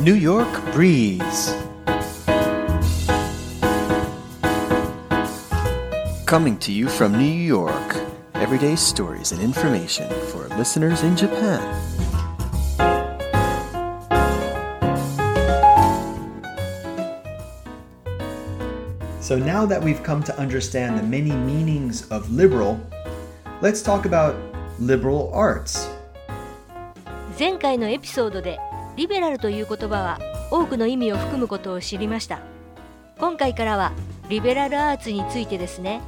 New York Breeze. Coming to you from New York, everyday stories and information for listeners in Japan. So now that we've come to understand the many meanings of liberal, let's talk about liberal arts. 前回のエピソードでリベラルという言葉は多くの意味を含むことを知りました。今回からはリベラルアーツについてですね。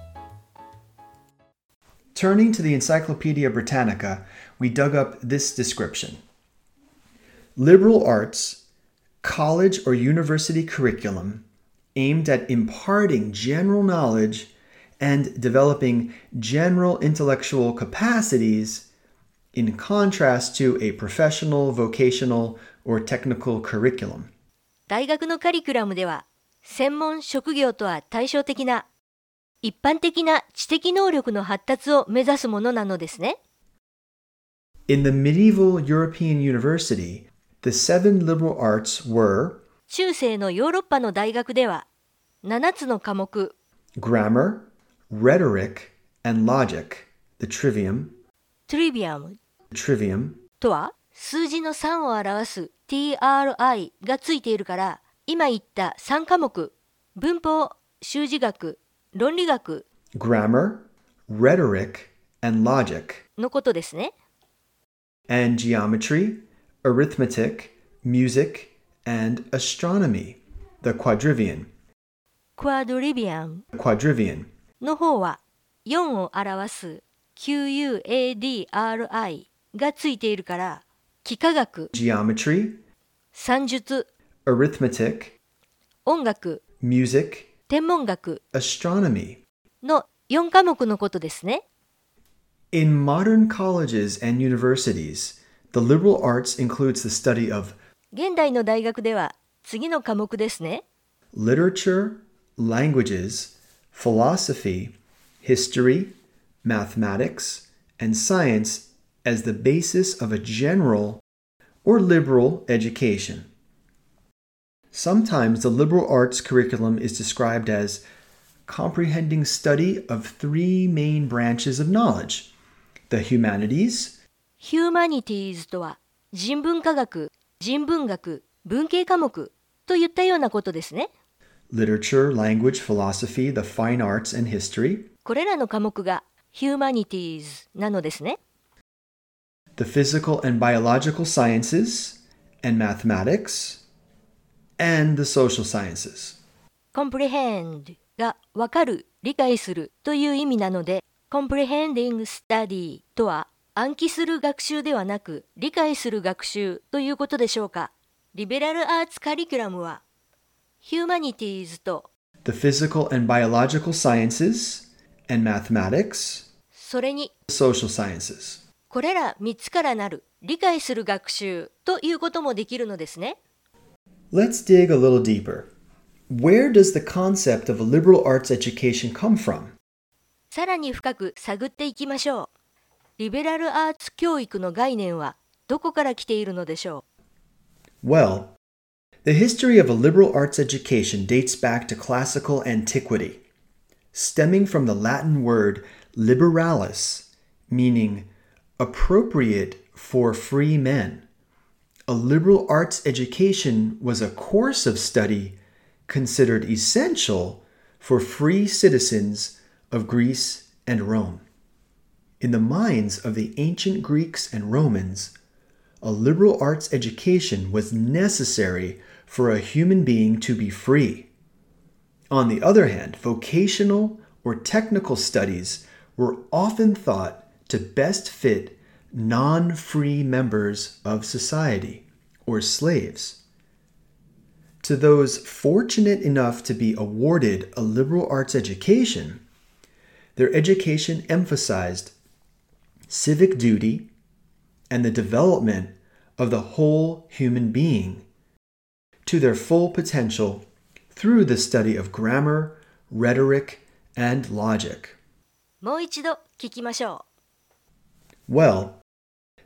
Turning to the Encyclopedia Britannica, we dug up this description. Liberal arts, college or university curriculum aimed at imparting general knowledge and developing general intellectual capacities in contrast to a professional, vocational, or technical curriculum. 大学のカリキュラムでは、専門職業とは対照的な一般的な知的能力の発達を目指すものなのですね。 In the medieval European university, the seven liberal arts were 中世のヨーロッパの大学では、7つの科目 grammar, rhetoric, and logic, the trivium trivium とは数字の3を表す TRI がついているから、今言った3科目、文法、修辞学、論理学 grammar, rhetoric, and logic のことですね。 and geometry, arithmetic, music, and astronomy, the quadrivium の方は4を表す QUADRI がついているから、幾何学、geometry, 算術、 arithmetic, 音楽、 music, 天文学 astronomy. の4科目のことですね。 In modern colleges and universities, the liberal arts includes the study of 現代の大学では次の科目ですね。 literature, languages, philosophy, history, mathematics, and science as the basis of a general or liberal education. Sometimes the liberal arts curriculum is described as comprehending study of three main branches of knowledge: the humanities, Humanities とは人文科学、人文学、文系科目といったようなことですね。 literature, language, philosophy, the fine arts, and history, これらの科目が Humanities なのですね。 the physical and biological sciences, and mathematics, and the social sciences. Comprehend が分かる、理解するという意味なので、Comprehending Study とは暗記する学習ではなく、理解する学習ということでしょうか。リベラルアーツカリキュラムは Humanities と the physical and biological sciences, and mathematics, それに social sciences. これら3つからなる理解する学習ということもできるのですね。 Let's dig a little deeper. Where does the concept of a liberal arts education come from? さらに深く探っていきましょう。リベラルアーツ教育の概念はどこから来ているのでしょう。 Well, the history of a liberal arts education dates back to classical antiquity, stemming from the Latin word liberalis, meaning appropriate for free men. A liberal arts education was a course of study considered essential for free citizens of Greece and Rome. In the minds of the ancient Greeks and Romans, a liberal arts education was necessary for a human being to be free. On the other hand, vocational or technical studies were often thought to best fit non-free members of society, or slaves. To those fortunate enough to be awarded a liberal arts education, their education emphasized civic duty and the development of the whole human being to their full potential through the study of grammar, rhetoric, and logic. もう一度聞きましょう。 Well,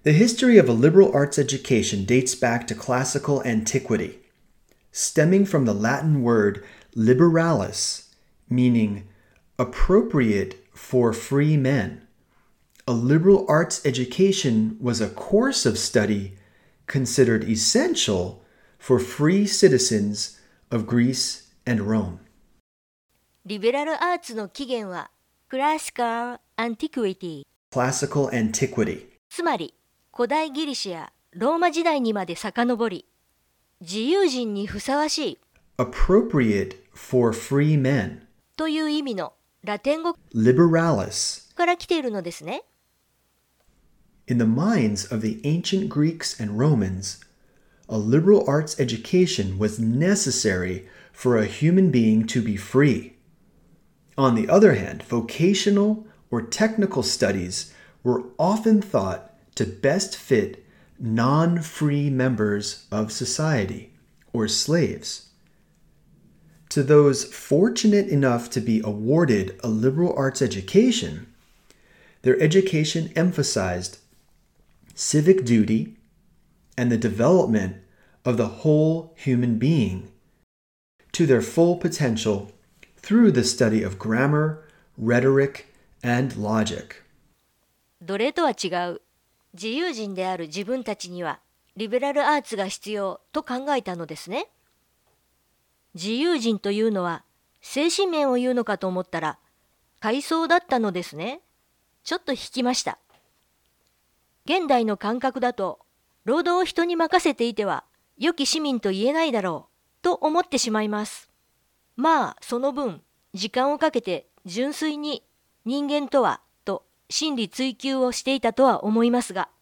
The history of a liberal arts education dates back to classical antiquity, stemming from the Latin word liberalis, meaning appropriate for free men. A liberal arts education was a course of study considered essential for free citizens of Greece and Rome. リベラルアーツの起源はクラシカル・アンティクイティ、 Classical antiquity. つまり古代ギリシャやローマ時代にまで遡り、自由人にふさわしい Appropriate for free men. という意味のラテン語 Liberalis. から来ているのですね。 In the minds of the ancient Greeks and Romans, a liberal arts education was necessary for a human being to be free. On the other hand, vocational or technical studies were often thought to best fit non-free members of society, or slaves. To those fortunate enough to be awarded a liberal arts education, their education emphasized civic duty and the development of the whole human being to their full potential through the study of grammar, rhetoric, and logic. 奴隷とは違う自由人である自分たちにはリベラルアーツが必要と考えたのですね。自由人というのは精神面を言うのかと思ったら階層だったのですね。ちょっと引きました。現代の感覚だと労働を人に任せていては良き市民と言えないだろうと思ってしまいます。まあその分時間をかけて純粋に人間とはと真理追求をしていたとは思いますが。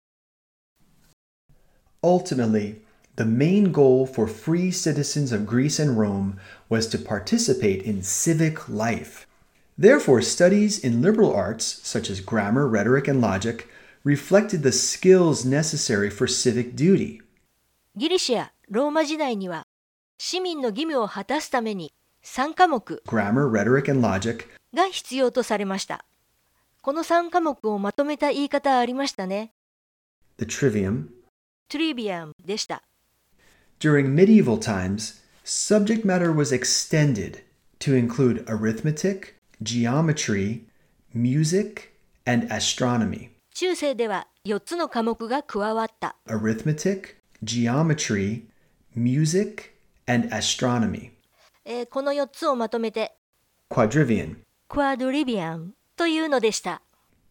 Ultimately, the main goal for free citizens of Greece and Rome was to participate in civic life. Therefore, studies in liberal arts, such as grammar, rhetoric, and logic, reflected the skills necessary for civic duty. ギリシャ、ローマ時代には市民の義務を果たすために3科目 Grammar, rhetoric, and logic が必要とされました。この3科目をまとめた言い方ありましたね。 the trivium. トリビアムでした。 During medieval times, subject matter was extended to include arithmetic, geometry, music, and astronomy. 中世では4つの科目が加わった。 Arithmetic, geometry, music, and astronomy. この4つをまとめて Quadrivium. クアドリビアムというのでした。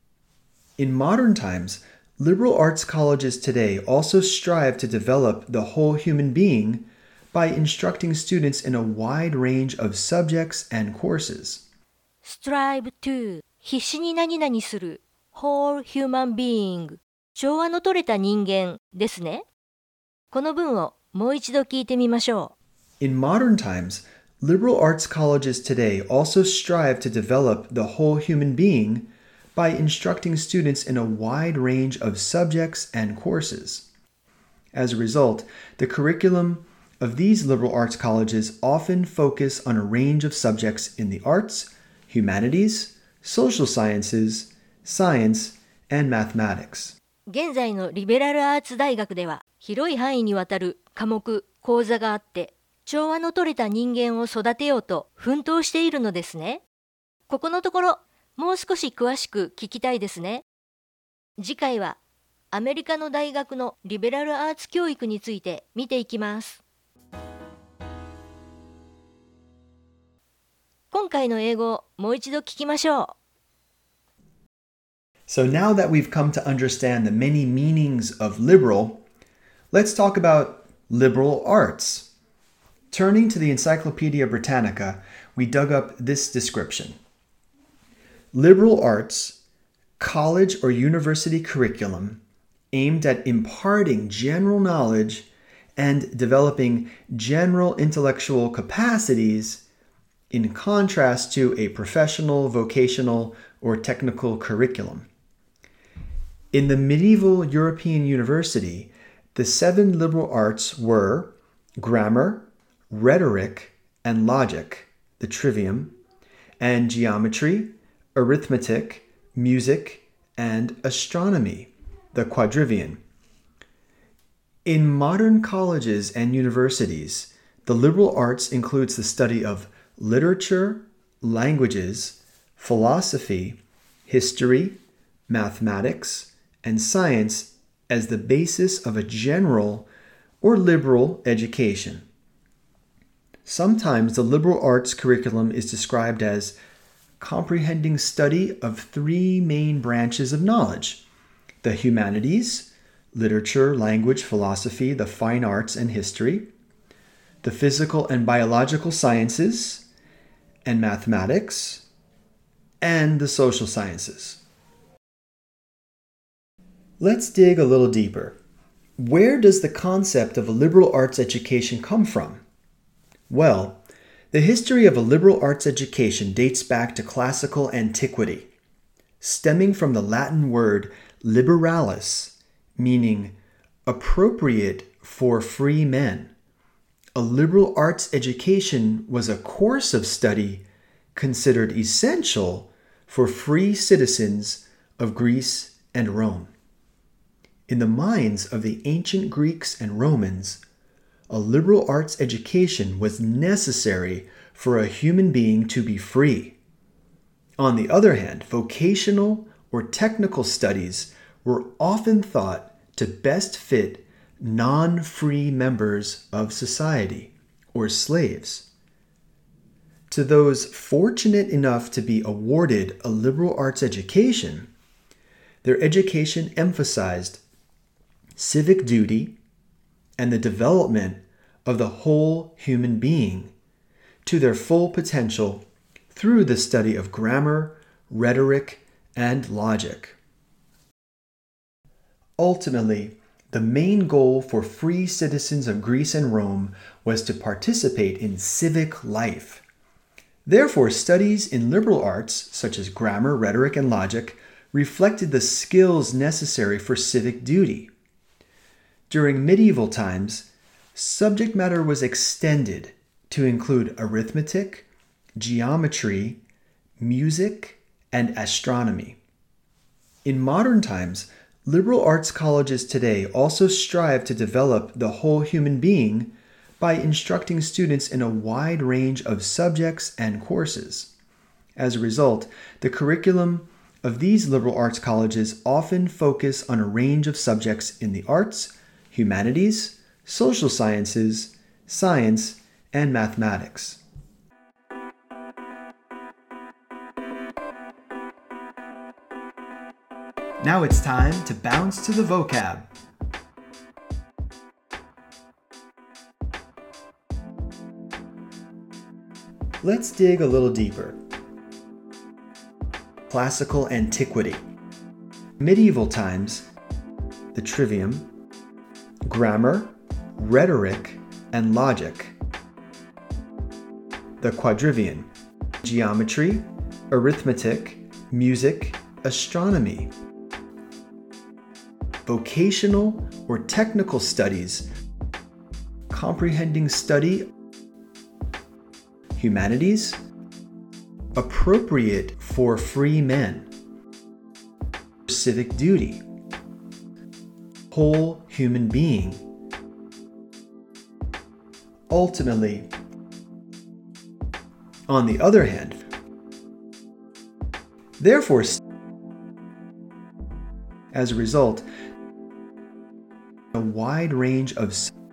In modern times, liberal arts colleges today also strive to develop the whole human being by instructing students in a wide range of subjects and courses. strive to 必死に何々する whole human being 調和の取れた人間ですね。この文をもう一度聞いてみましょう。 In modern times, liberal arts colleges today also strive to develop the whole human being by instructing students in a wide range of subjects and courses. As a result, the curriculum of these liberal arts colleges often focus on a range of subjects in the arts, humanities, social sciences, science, and mathematics. 現在のリベラルアーツ大学では広い範囲にわたる科目、講座があって調和の取れた人間を育てようと奮闘しているのですね。ここのところもう少し詳しく聞きたいですね。次回はアメリカの大学のリベラルアーツ教育について見ていきます。今回の英語をもう一度聞きましょう。 So now that we've come to understand the many meanings of liberal, let's talk about liberal arts. Turning to the Encyclopedia Britannica, we dug up this description. Liberal arts, college or university curriculum aimed at imparting general knowledge and developing general intellectual capacities in contrast to a professional, vocational, or technical curriculum. In the medieval European university, the 7 liberal arts were grammar, rhetoric, and logic, the trivium, and geometry, arithmetic, music, and astronomy, the quadrivium. In modern colleges and universities, the liberal arts includes the study of literature, languages, philosophy, history, mathematics, and science as the basis of a general or liberal education. Sometimes the liberal arts curriculum is described as comprehending study of three main branches of knowledge: the humanities, literature, language, philosophy, the fine arts, and history; the physical and biological sciences, and mathematics; and the social sciences. Let's dig a little deeper. Where does the concept of a liberal arts education come from? Well, the history of a liberal arts education dates back to classical antiquity, stemming from the Latin word liberalis, meaning appropriate for free men. A liberal arts education was a course of study considered essential for free citizens of Greece and Rome. In the minds of the ancient Greeks and Romans, a liberal arts education was necessary for a human being to be free. On the other hand, vocational or technical studies were often thought to best fit non-free members of society, or slaves. To those fortunate enough to be awarded a liberal arts education, their education emphasized civic duty and the development of the whole human being to their full potential through the study of grammar, rhetoric, and logic. Ultimately, the main goal for free citizens of Greece and Rome was to participate in civic life. Therefore, studies in liberal arts, such as grammar, rhetoric, and logic, reflected the skills necessary for civic duty. During medieval times, subject matter was extended to include arithmetic, geometry, music, and astronomy. In modern times, liberal arts colleges today also strive to develop the whole human being by instructing students in a wide range of subjects and courses. As a result, the curriculum of these liberal arts colleges often focus on a range of subjects in the arts, humanities, social sciences, science, and mathematics. Now it's time to bounce to the vocab. Let's dig a little deeper. Classical antiquity. Medieval times, the trivium, grammar, rhetoric, and logic. The quadrivium, geometry, arithmetic, music, astronomy. Vocational or technical studies, comprehending study, humanities, appropriate for free men, civic duty, whole human being. Ultimately, on the other hand, therefore, as a result, a wide range of